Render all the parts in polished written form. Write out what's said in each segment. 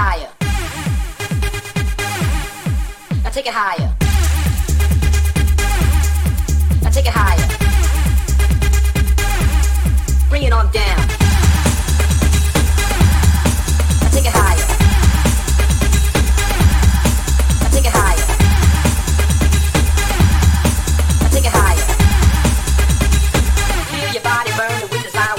higher. Now take it higher. Now take it higher. Bring it on down. Now take it higher. Now take it higher. Now take it higher. Feel your body burn, the wind is out.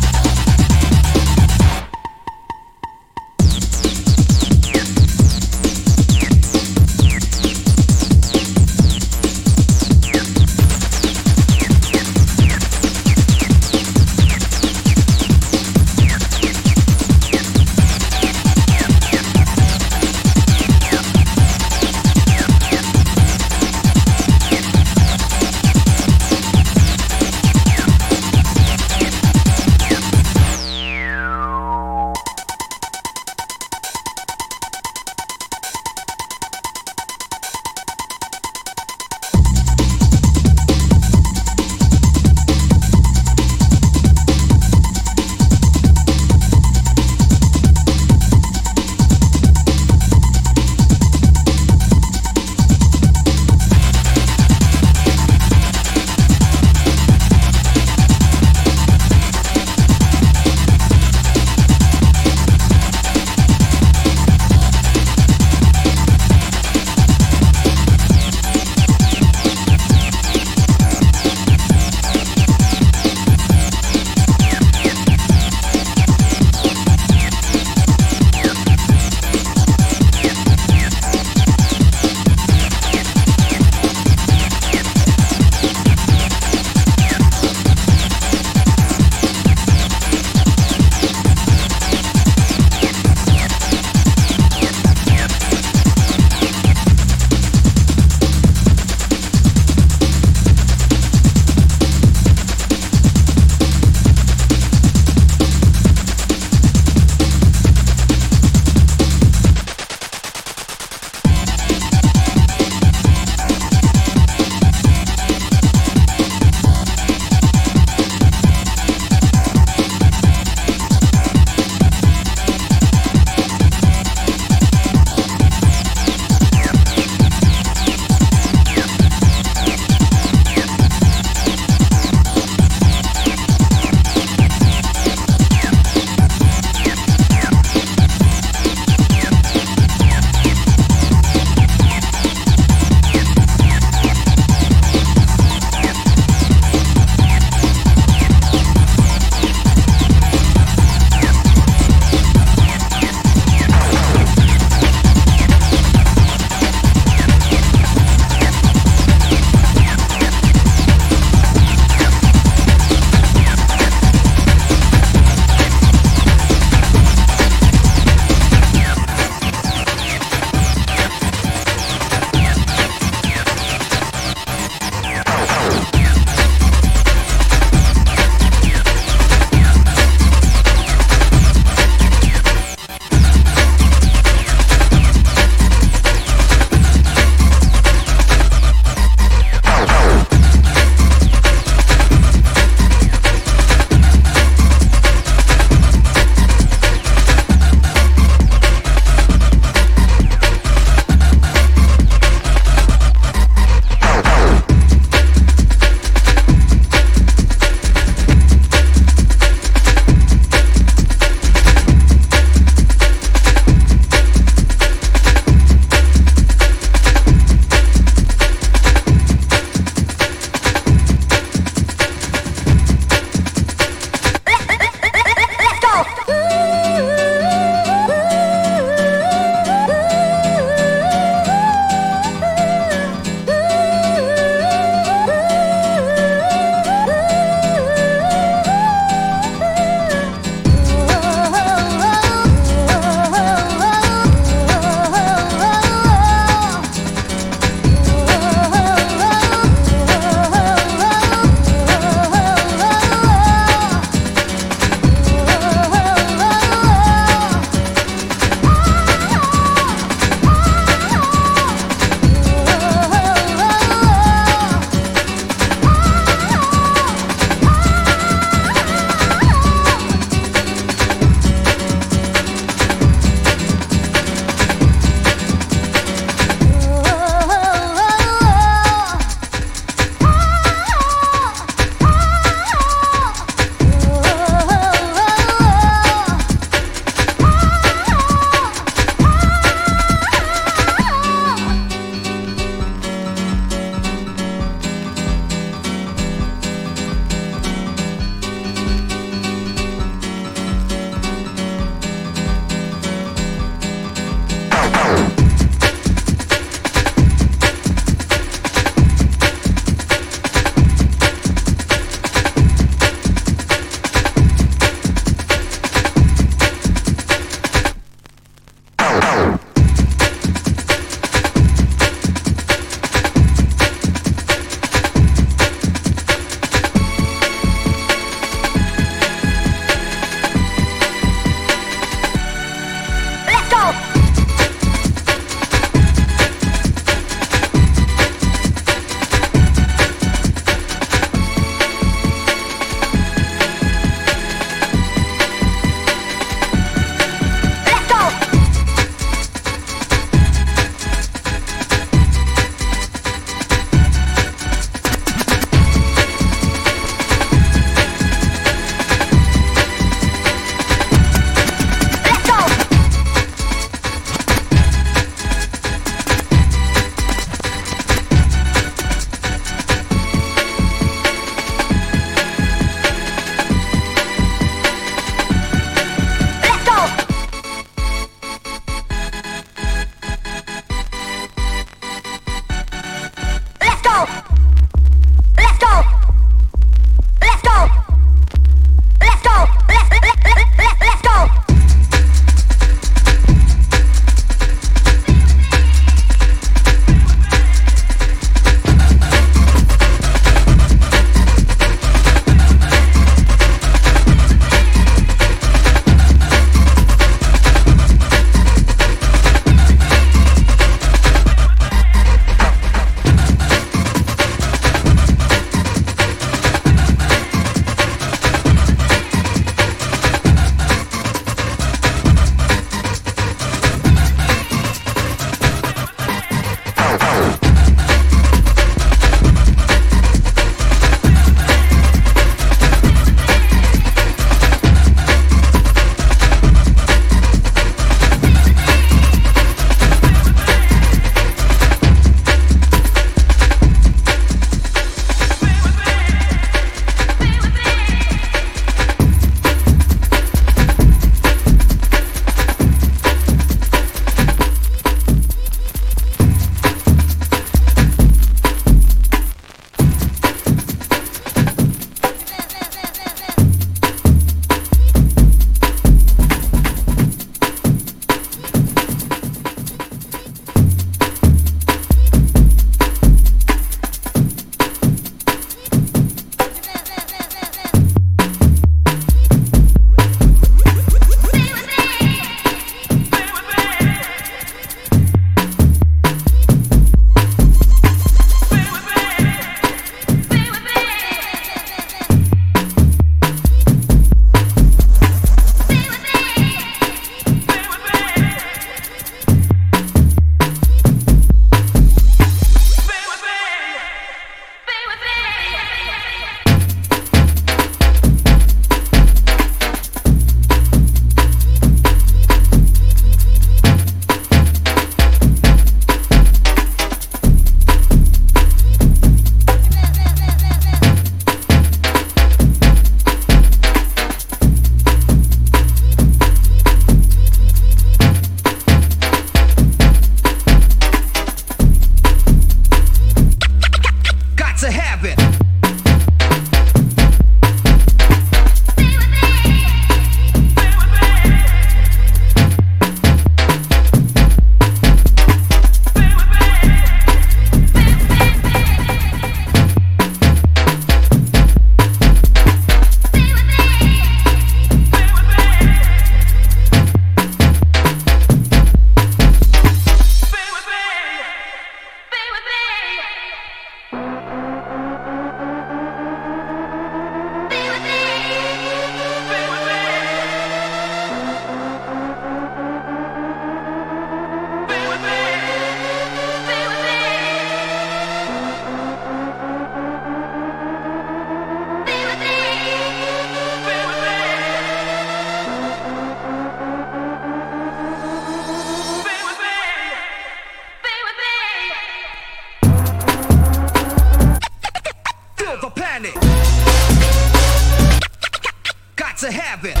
to have it.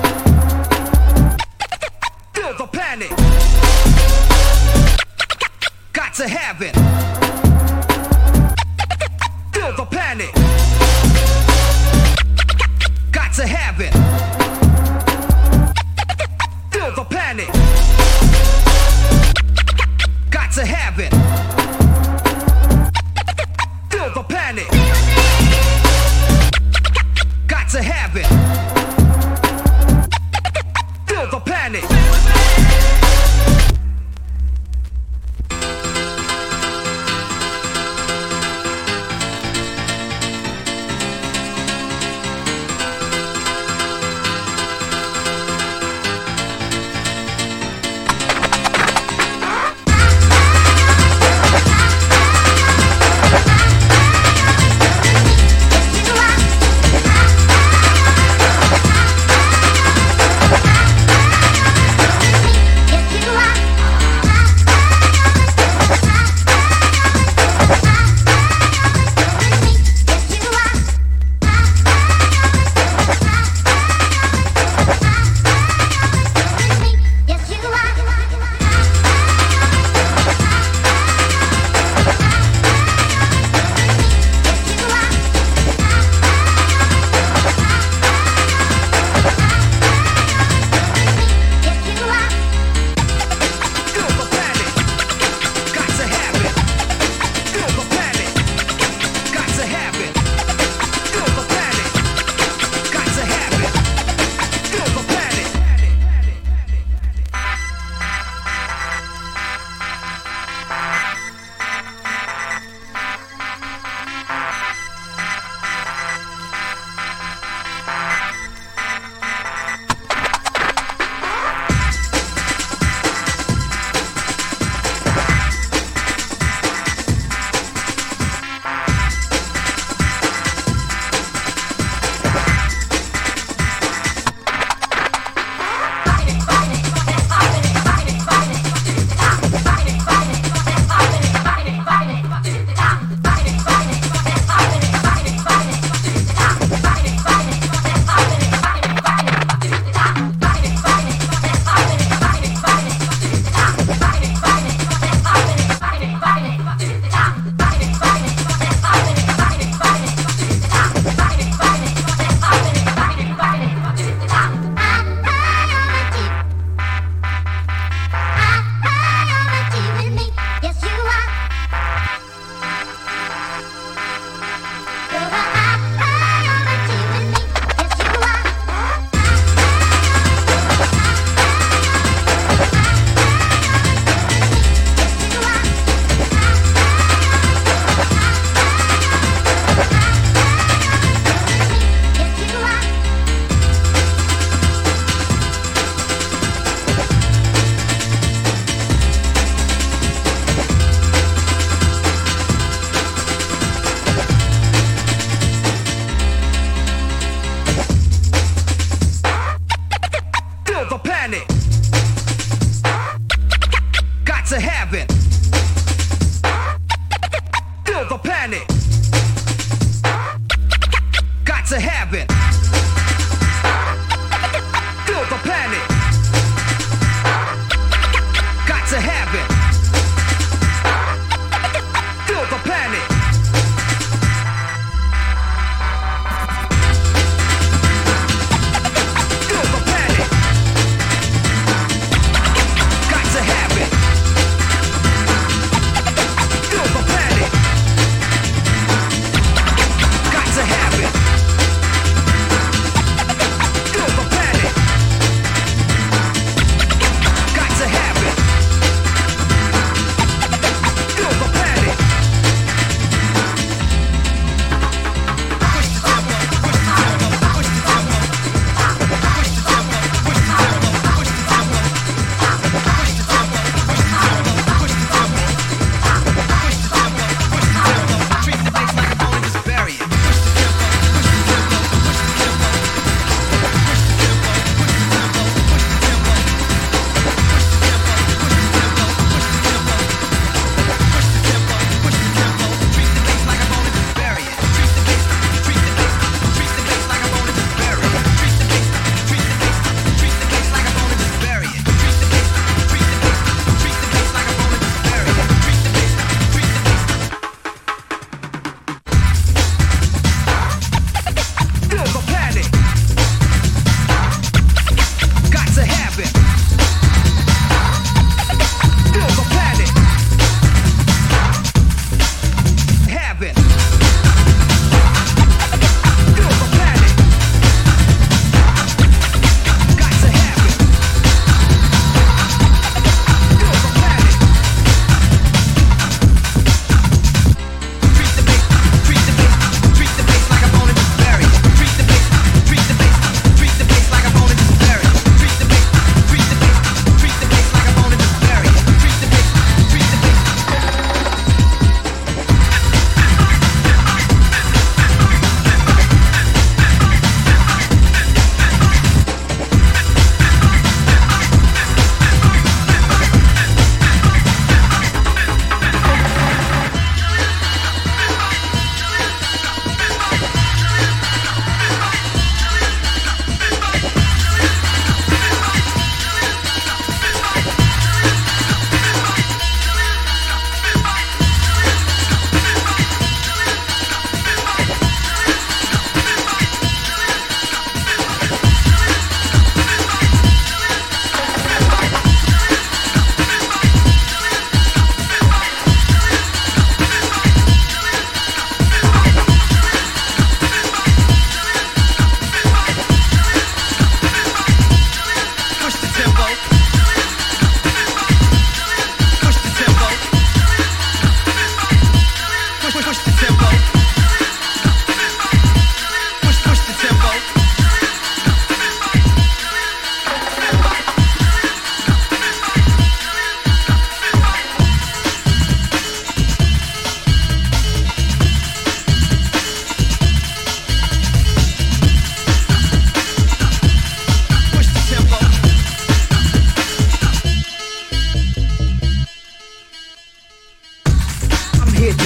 Feel the panic. Got to have it. Feel the panic. Got to have it. Feel the panic. Got to have it. Feel the panic. Got to have it. Feel the panic. Yes,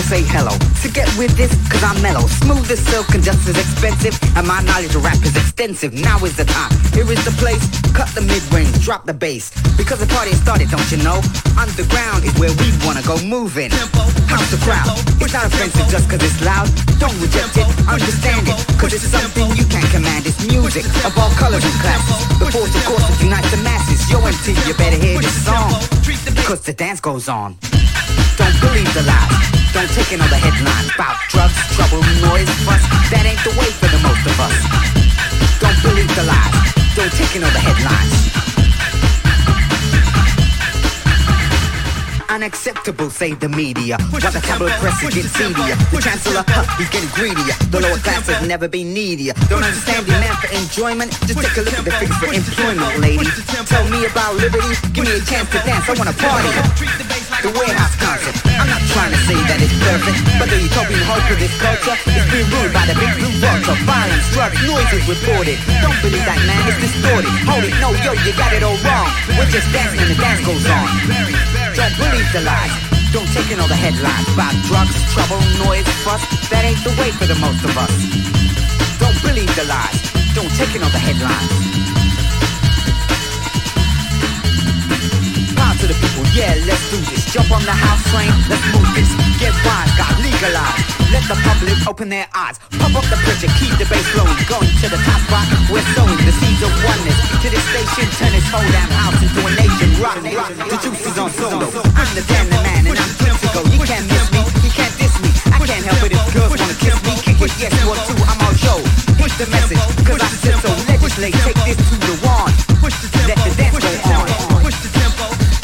say hello. So get with this, cause I'm mellow. Smooth as silk and just as expensive. And my knowledge of rap is extensive. Now is the time, here is the place. Cut the mid-range, drop the bass. Because the party has started, don't you know? Underground is where we wanna go moving. House the crowd, it's not offensive just cause it's loud. Don't reject it, understand it. Cause it's something you can't command. It's music of all colors and classes. The force of course that unites the masses. Yo MT, you better hear this song. Cause the dance goes on. Don't believe the lies. Don't take in all the headlines about drugs, trouble, noise, fuss. That ain't the way for the most of us. Don't believe the lies. Don't take in all the headlines. Unacceptable, say the media. While the tabloid press is getting seedier. The chancellor, he's getting greedier. The lower class has never been needier. Don't understand demand for enjoyment? Just take a look at the figures for employment, lady. Tell me about liberty, give me a chance to dance. I wanna party. The warehouse concept. I'm not trying to say that it's perfect, but the utopian hope of this culture is being ruled by the big blue vulture. Violence, drugs, noises reported. Don't believe that, man, it's distorted. Hold it, no, yo, you got it all wrong. We're just dancing and the dance goes on. Don't believe the lies. Don't take in all the headlines about drugs, trouble, noise, fuss. That ain't the way for the most of us. Don't believe the lies. Don't take in all the headlines. Power to the people, yeah, let's do this. Jump on the house train, let's move this. Get wise, got legalized. Let the public open their eyes. Pump up the pressure, keep the bass flowing. Going to the top spot, we're sowing the seeds of oneness. To this station, turn this whole damn house into a nation. Rock, the juice is on solo. I'm the damn man and I'm good to go. You can't miss me, you can't diss me. I can't help it if girls wanna kiss me. Kick it, yes, you want to, I'm on show. Push the message, cause I said so. Legislate, take this to the wand. Let the dance go on. Push the tempo.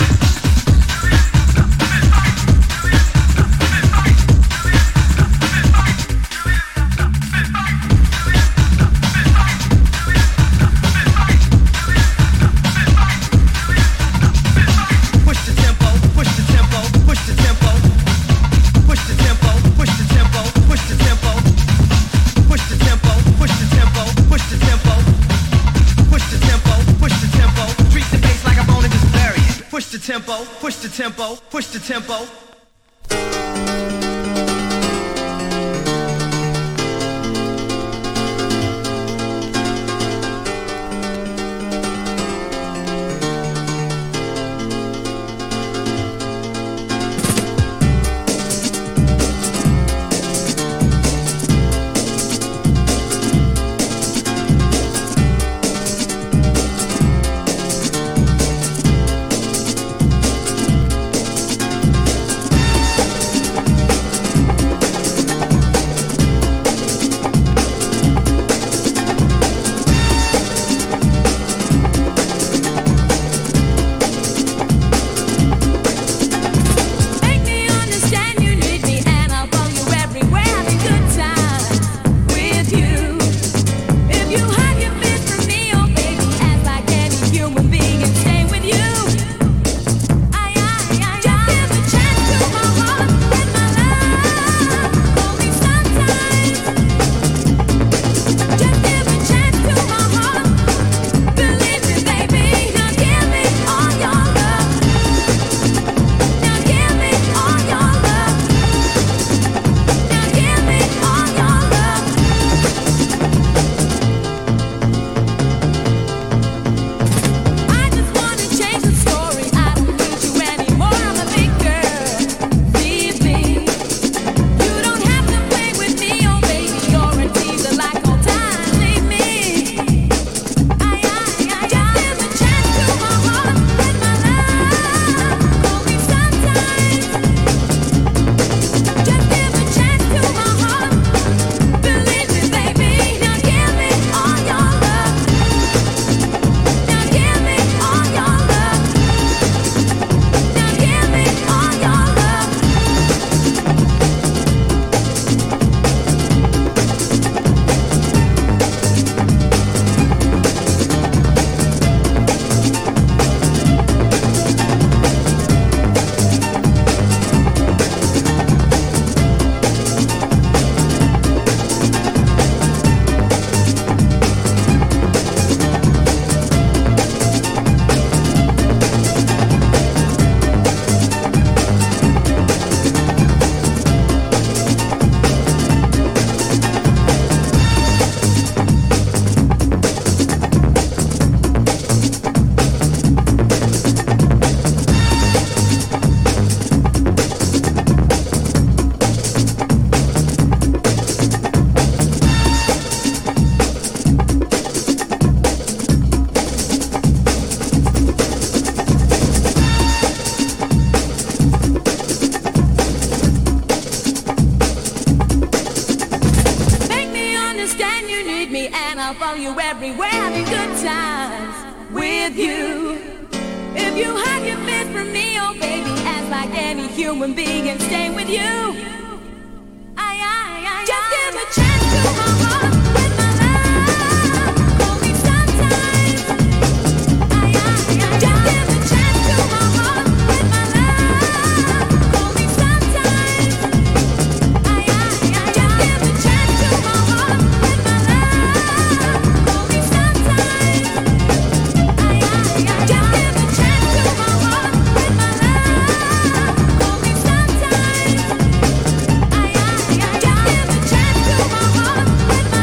Push the tempo, push the tempo. you everywhere, having good times with you. If you hide your face from me, oh baby, act like any human being and stay with you. Just give a chance to my heart with my love. Hold me sometimes. Just give a chance to my heart with my love. Hold me sometimes. Just give a chance to my heart with my love. Hold me sometimes. Just give a chance to my heart with my love. Hold me sometimes. Just give a chance to my heart with my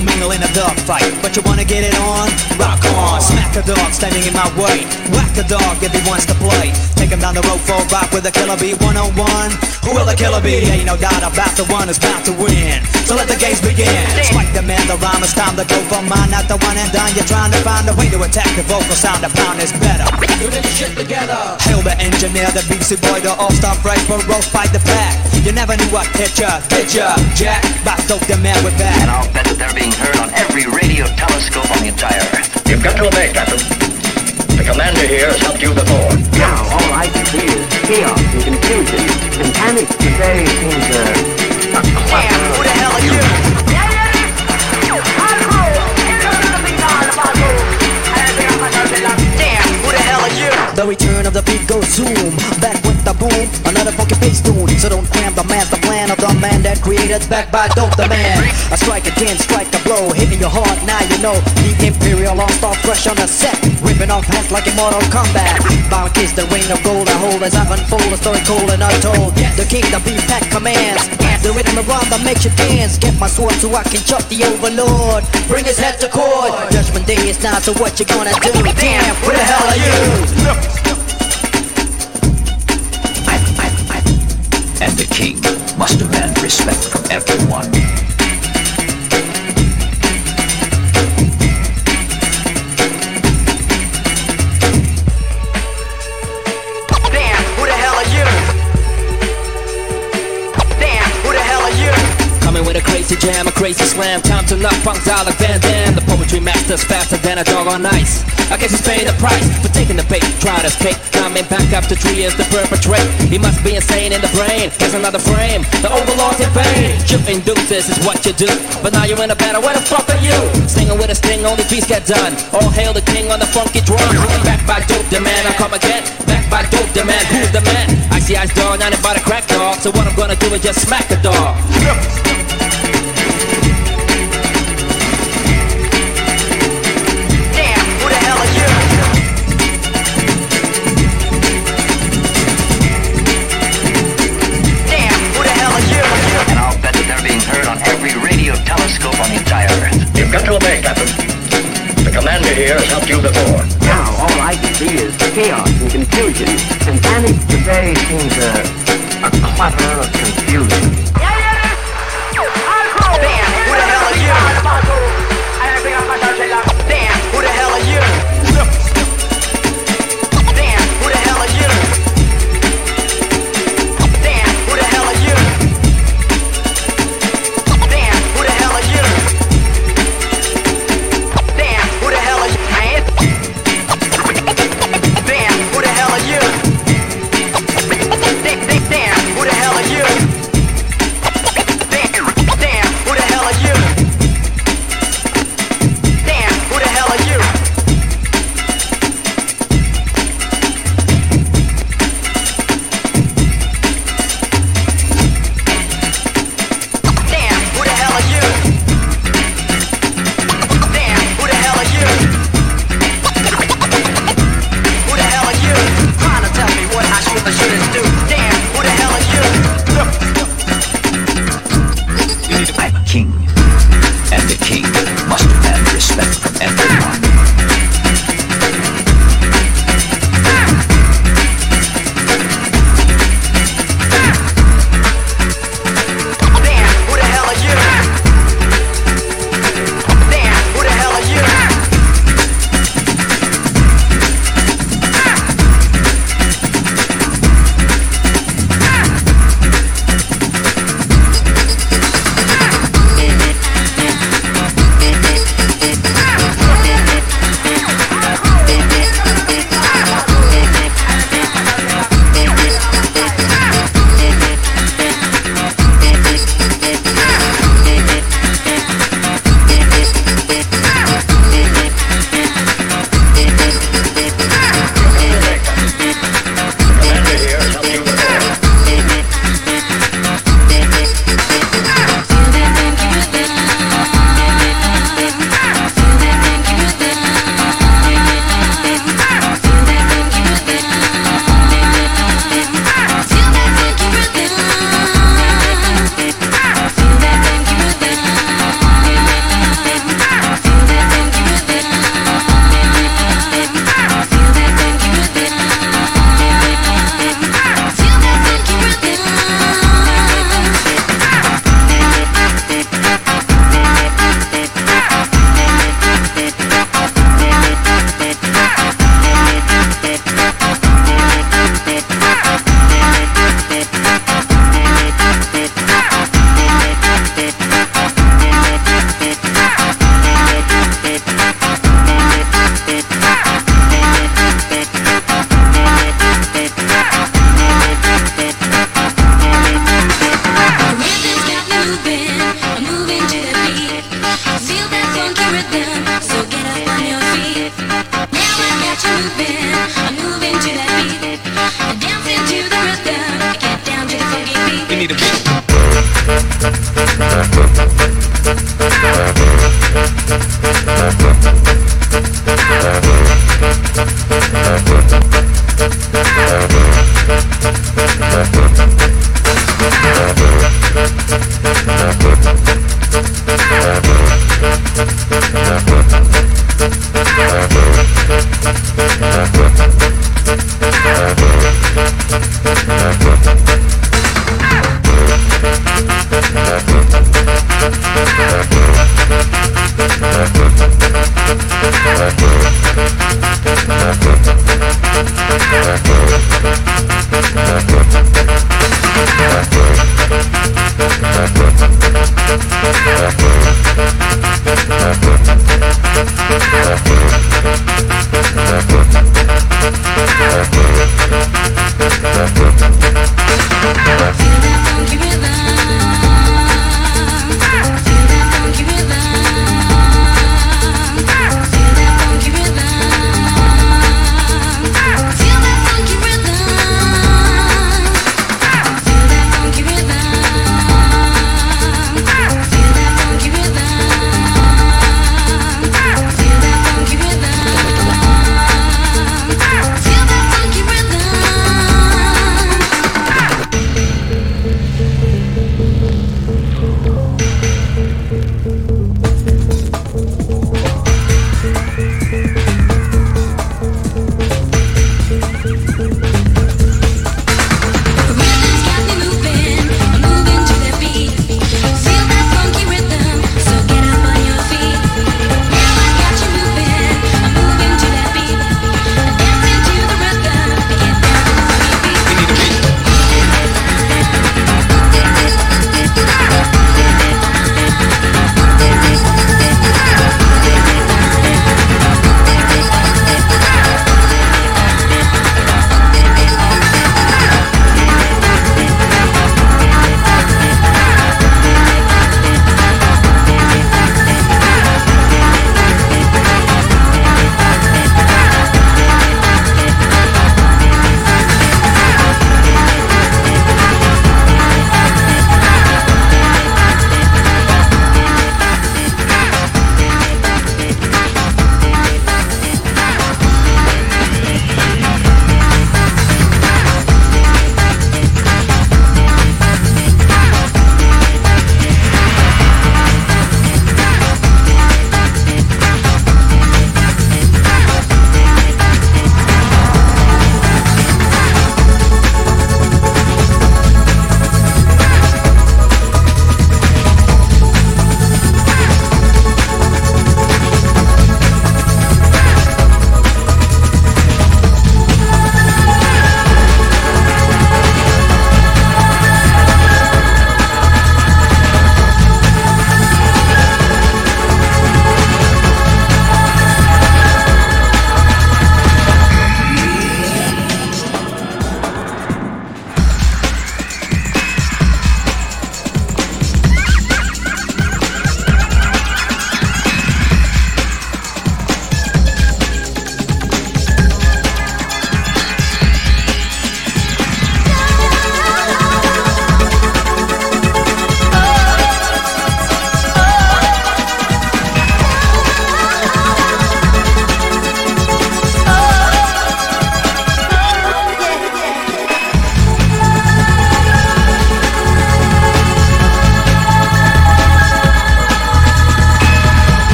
don't mingle in a dog fight, but you wanna get it on? Rock on, smack a dog standing in my way. Whack a dog if he wants to play. Take him down the road for a rock with a killer bee 101. Who will the killer be? Ain't no doubt about the one who's bound to win. So let the games begin. Spike the man, the rhyme, it's time to go for mine. Not the one and done, you're trying to find a way to attack the vocal sound. A pound is better. Put this shit together. Hail the engineer, the BBC boy, the all-star fresh, but roast fight the pack. You never knew what hit ya, Jack. Back dope the man with that. And I'll bet that they're being heard on every radio telescope on the entire Earth. You've got to obey, Captain. The commander here has helped you before. Now all I can see is chaos and confusion and panic. Today seems a clutter. Who the hell are you? Damn, who the hell are you? The return of the beat goes zoom. Back with the boom, another funky bass tune. So don't cram the master plan of the man that created. Back by Dope the Man. A strike again, strike a blow, hitting your heart. Now you know the Imperial all-star fresh on the set, ripping off hats like in Mortal Kombat. Bound kiss the ring of gold. I hold as I unfold a story cold and untold. The king, the beat pack commands. The rhythm around that makes you dance. Get my sword so I can chop the overlord. Bring his head to court. Judgment day is now, so what you gonna do? Damn, who the hell are you? And the king must demand respect from everyone. Damn, who the hell are you? Damn, who the hell are you? Coming with a crazy jam, a crazy slam. Time to knock punks out like Van Damme. The poetry master's faster than a dog on ice. I guess he's paying the price for taking the bait, try to escape. Coming back up to tree is the perpetrate. He must be insane in the brain. Here's another frame, the overlord's in vain. Shooting deuces is what you do, but now you're in a battle, where the fuck are you? Singing with a sting, only beats get done. All hail the king on the funky drum. Back by Dope the Man, I come again. Back by Dope the Man, who's the man? Icy Ice dog, not by the crack dog. So what I'm gonna do is just smack a dog. Telescope on the entire Earth. You've got to obey, Captain. The commander here has helped you before. Now all I can see is chaos and confusion and panic. Today seems a clutter of confusion. Damn, who the hell are you? Damn, who the hell are you? Damn, who the hell are you? Damn, who the hell are you? Damn, who the hell are you? Damn, who the hell are you, man? Damn, who the hell are you? Damn, who the hell are you? need a beat.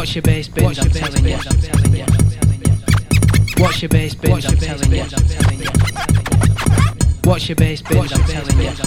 Watch your bass, bitch, I'm telling you. Watch your bass, bitch, I'm telling you. Watch your bass, bitch, I'm telling you.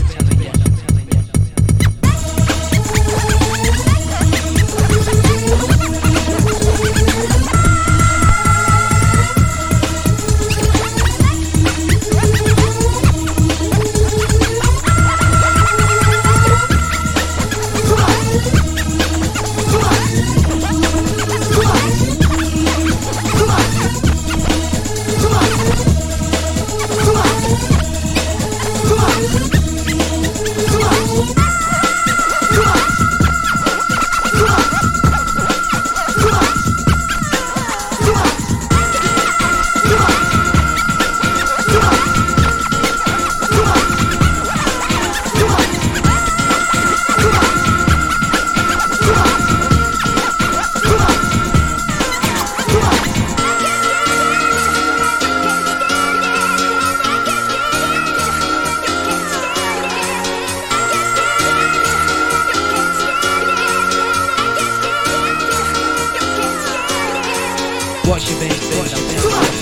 Watch your bass, bitch, I'm telling you.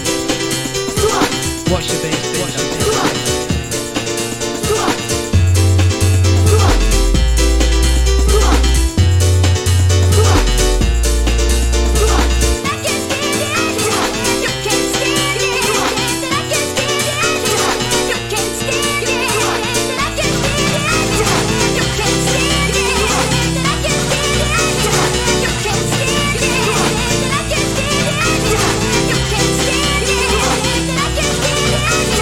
Watch your bass, bitch, I'm telling you. Yeah.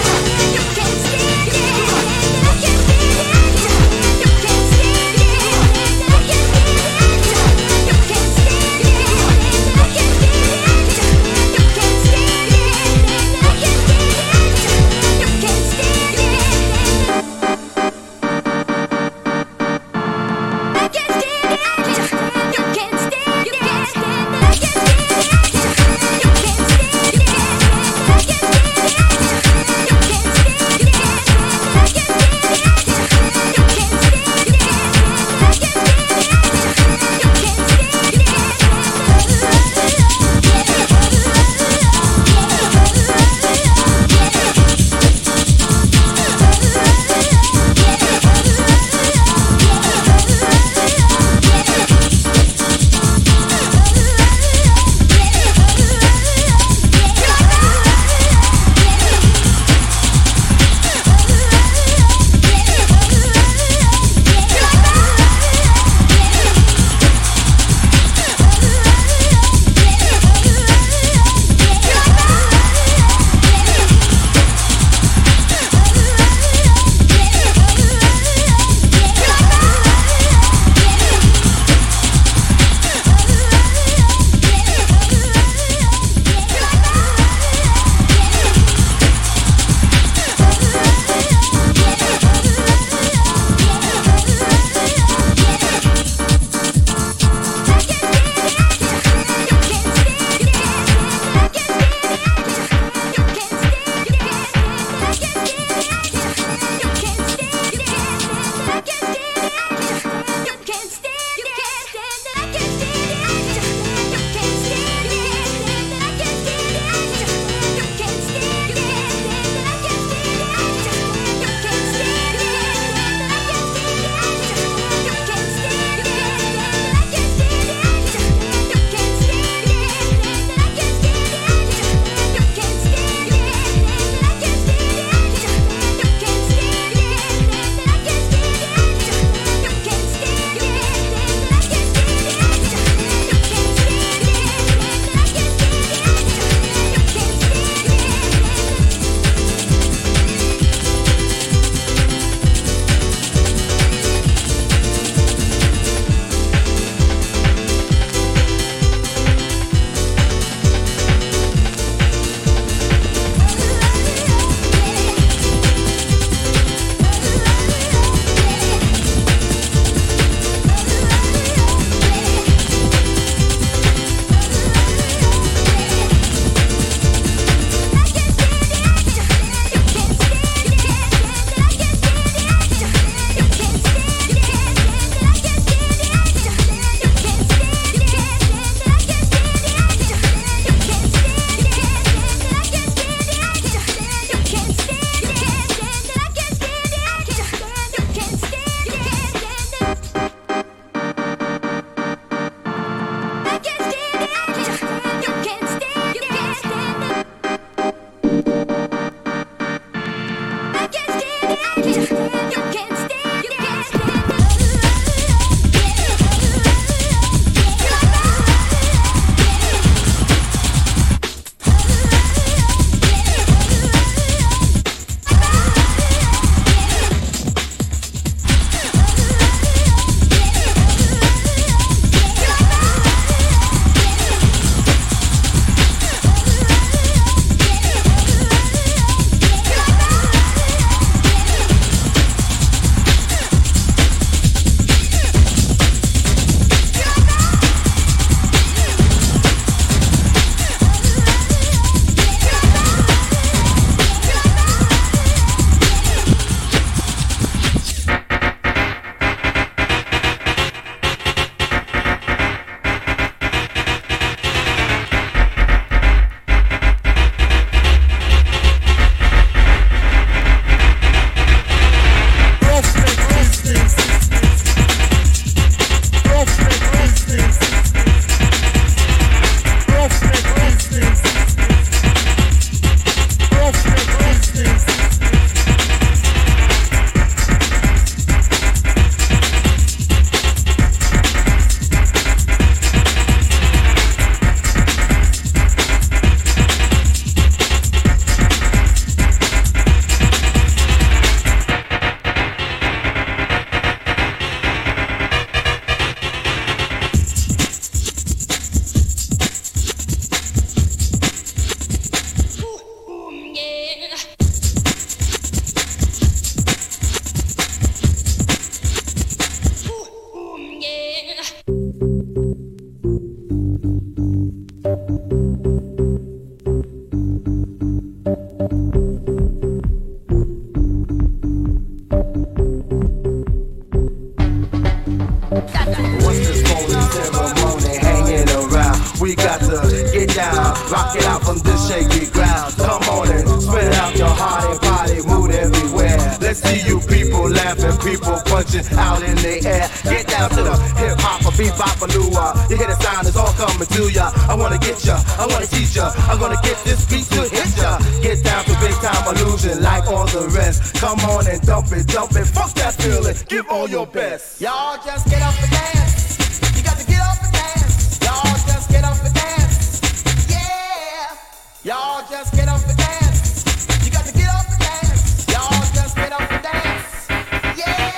What's this phony ceremony hanging around? We got to get down, rock it out from this shaky ground. Come on and spread out your heart and body, mood everywhere. Let's see you people laughing, people punching out in the air. Get down to the hip hop, a bebop, a lua. You hear the sound, it's all coming to ya. I wanna get ya, I wanna teach ya. I'm gonna get this beat to hit ya. Get down to big time illusion like all the rest. Come on and dump it, fuck that feeling. Give all your best. Y'all just get up and dance. You got to get up and dance. Y'all just get up and dance. Yeah. Y'all just get up and dance. You got to get up and dance. Y'all just get up and dance. Yeah.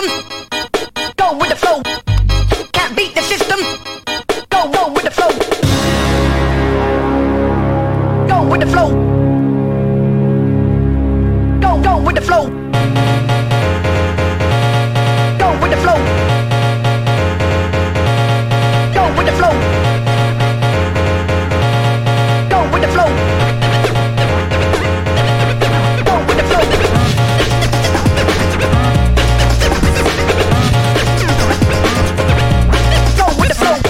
system. Go with the flow. Can't beat the system. Go with the flow. Go with the flow. Go with the flow. Go with the flow. Go with the flow. Go with the flow. Go with the flow. Go with the flow.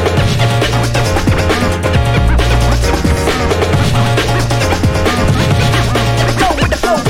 Go with the flow.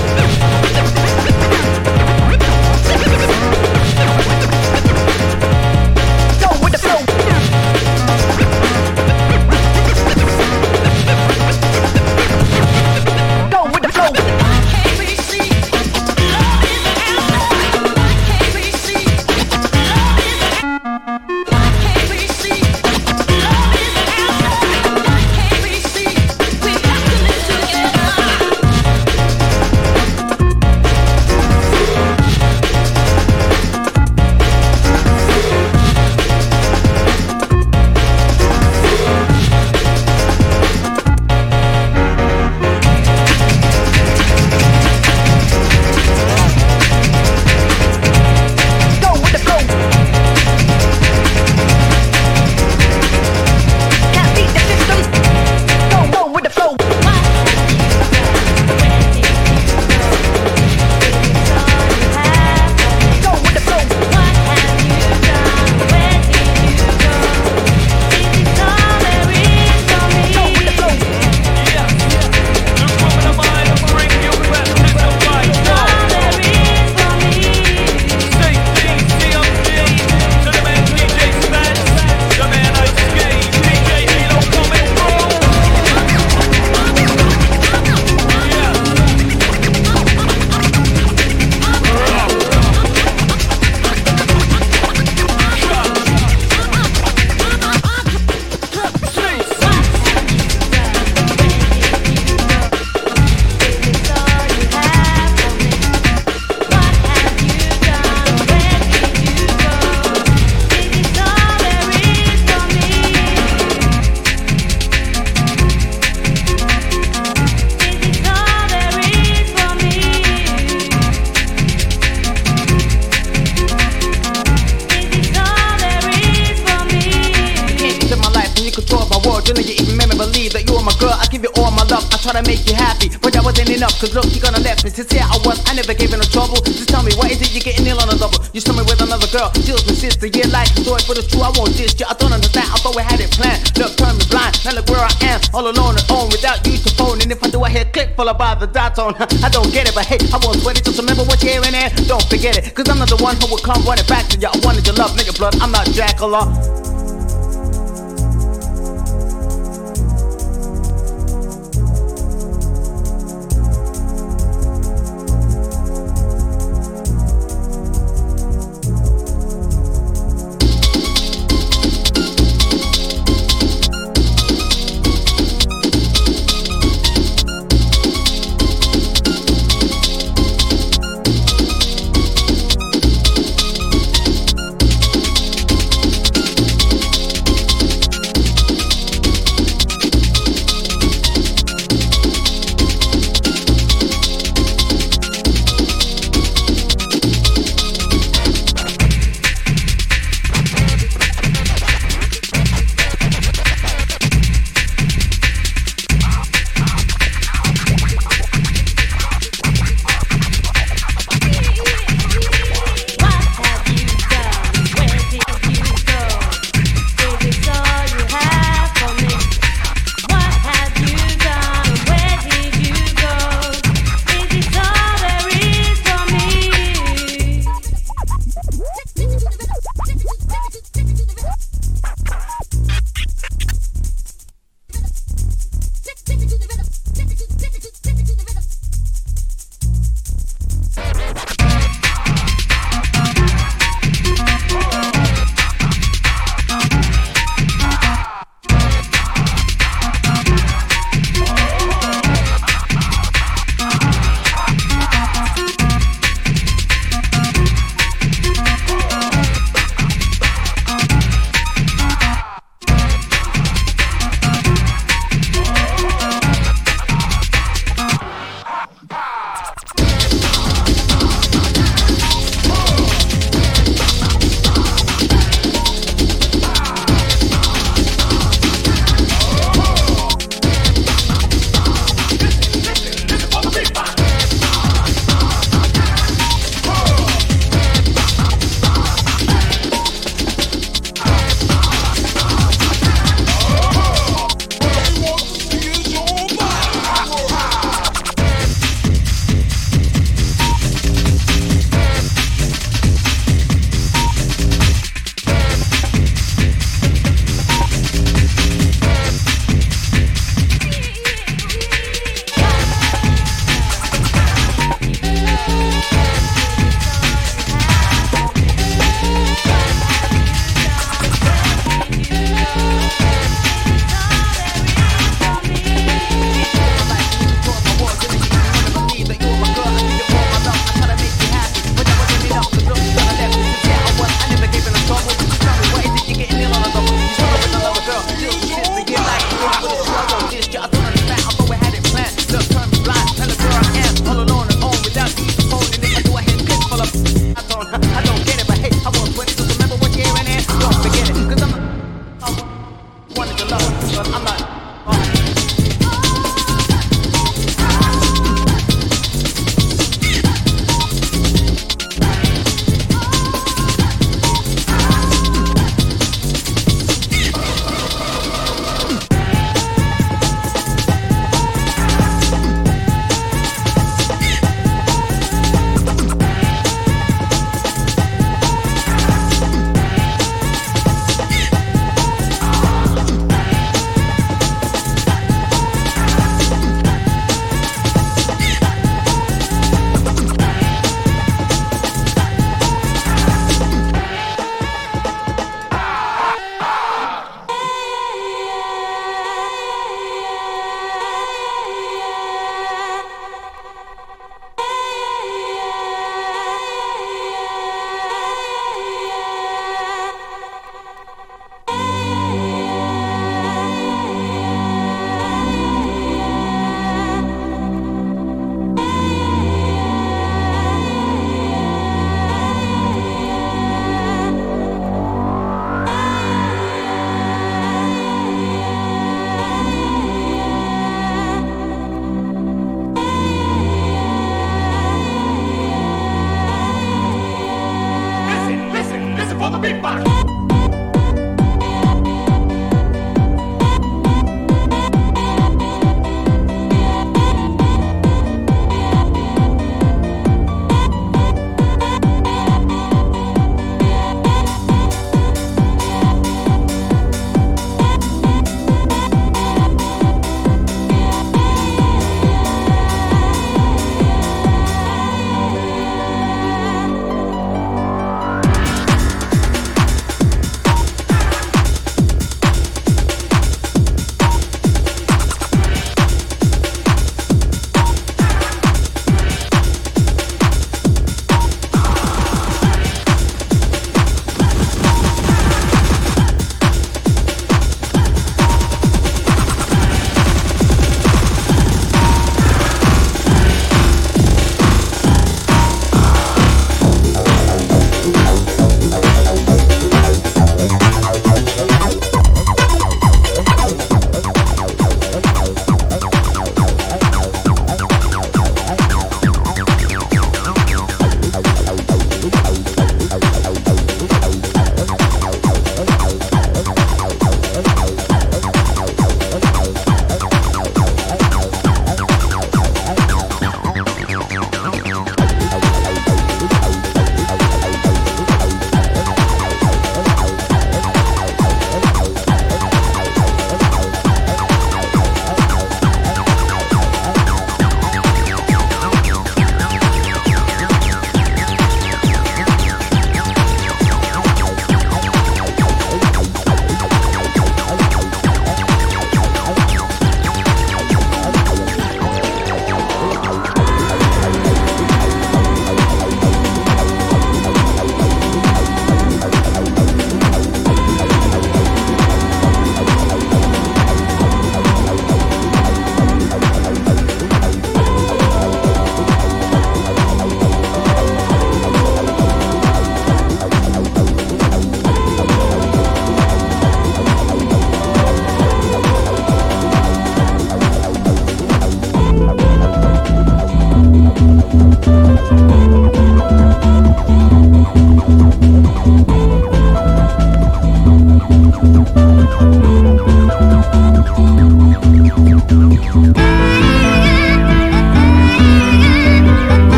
Try to make you happy, but that wasn't enough. Cause look, you gonna left me. Sincere I was, I never gave you no trouble. Just tell me, what is it you're getting ill on a double? You saw me with another girl, she was my sister. Yeah, like the story for the true, I won't diss you. I don't understand, I thought we had it planned. Look, turn me blind, now look where I am. All alone and on, without you to phone. And if I do, I hear click, followed by the dot tone. I don't get it, but hey, I won't sweat it. Just remember what you're hearing there, don't forget it. Cause I'm not the one who will come running back to you. I wanted your love, nigga blood, I'm not Dracula.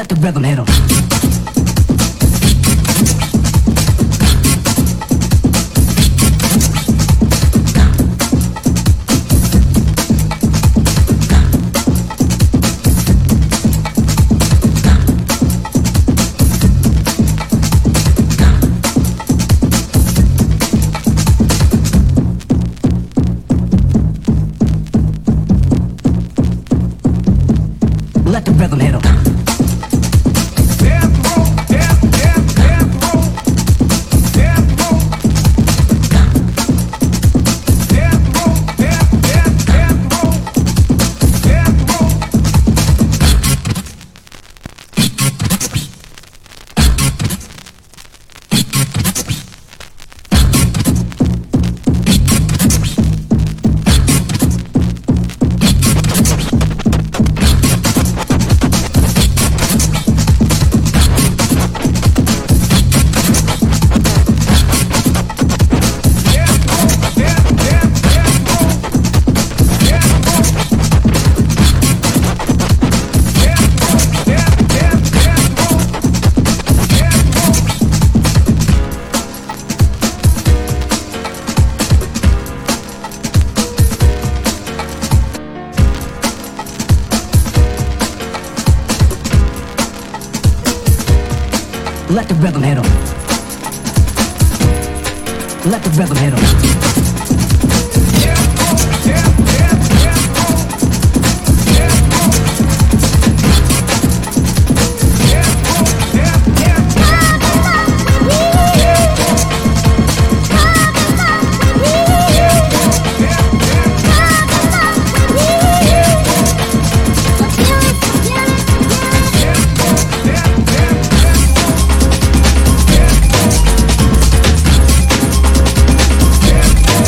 the rhythm hit 'em. Let the rhythm hit 'em. Let the rhythm hit 'em. Let the rhythm hit 'em. Yeah.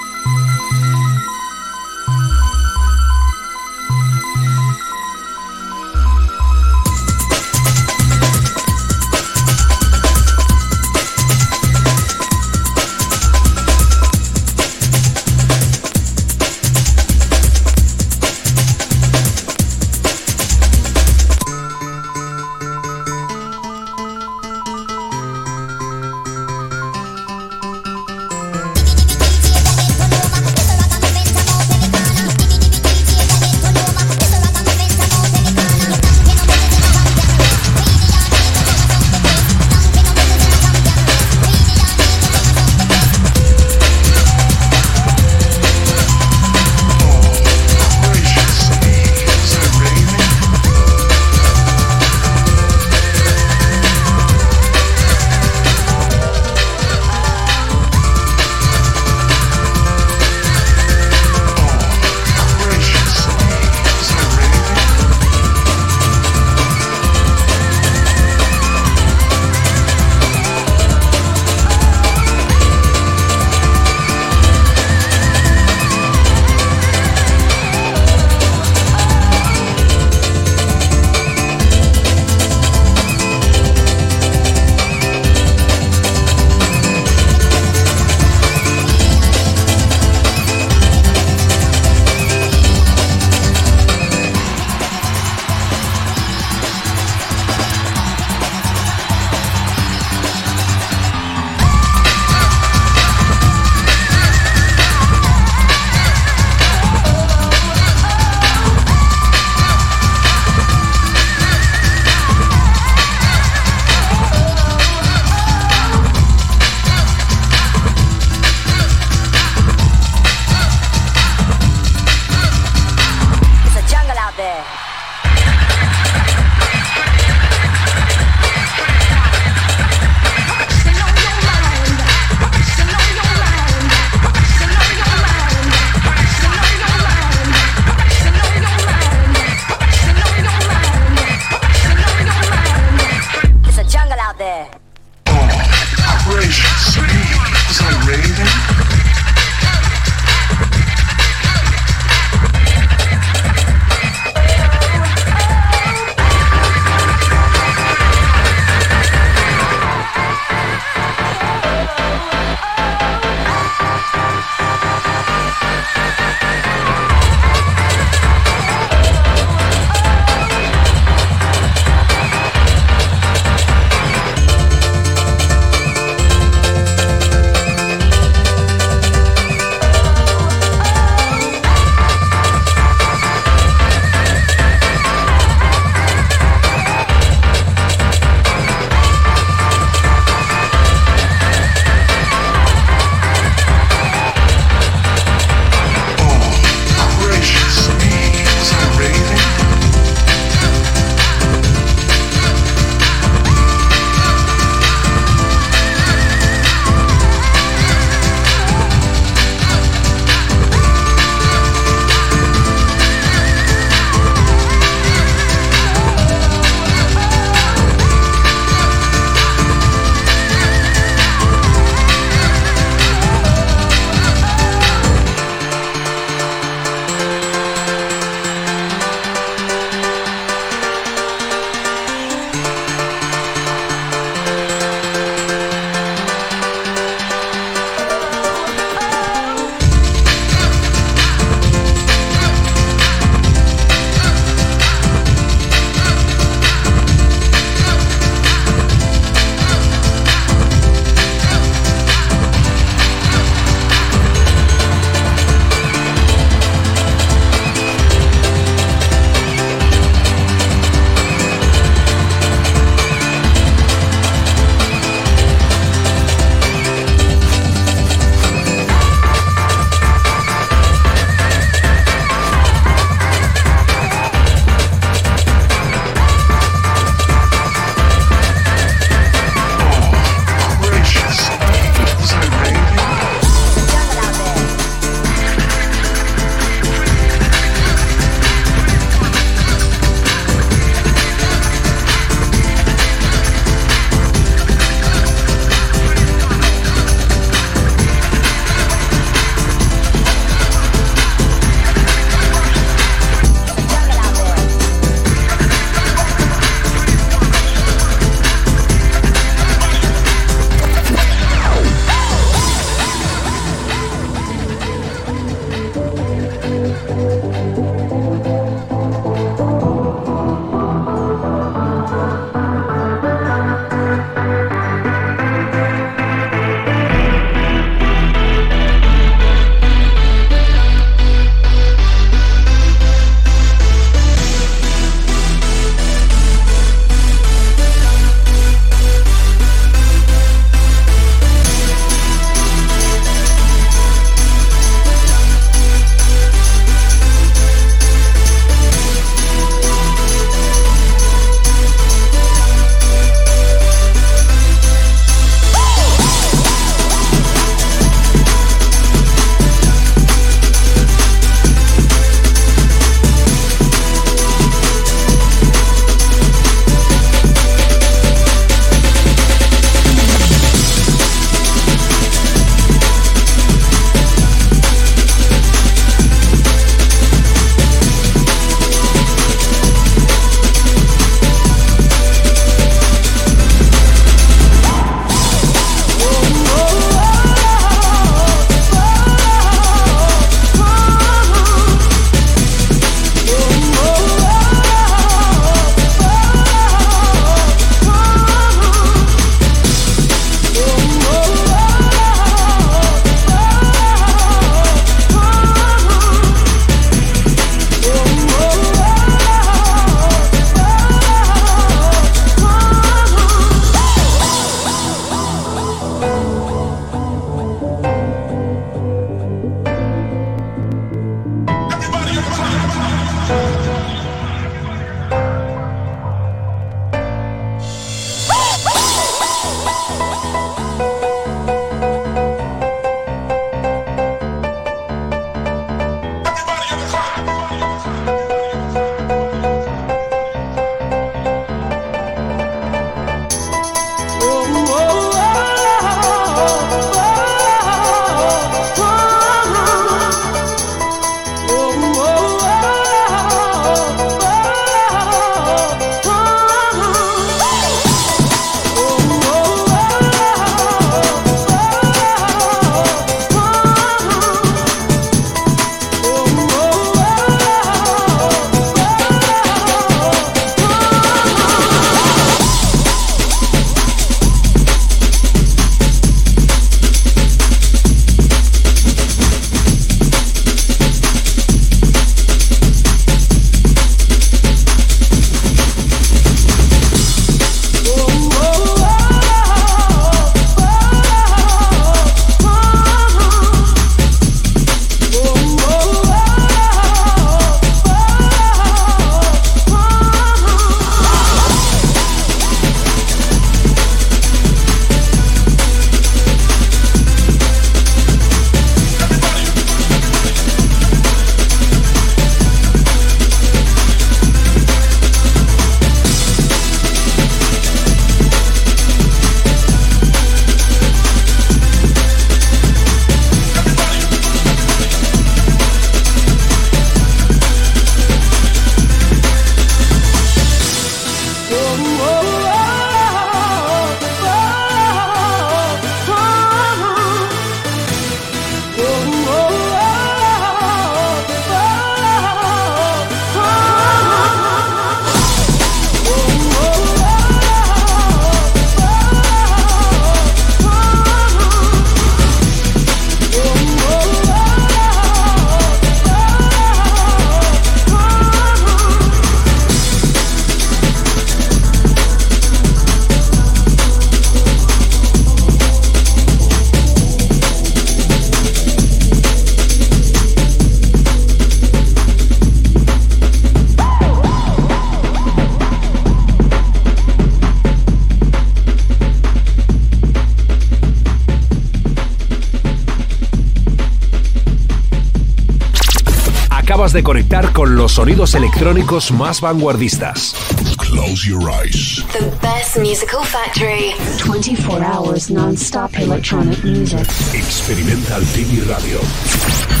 Acabas de conectar con los sonidos electrónicos más vanguardistas. Close your eyes. The best musical factory. 24 hours non-stop electronic music. Experimental TV Radio.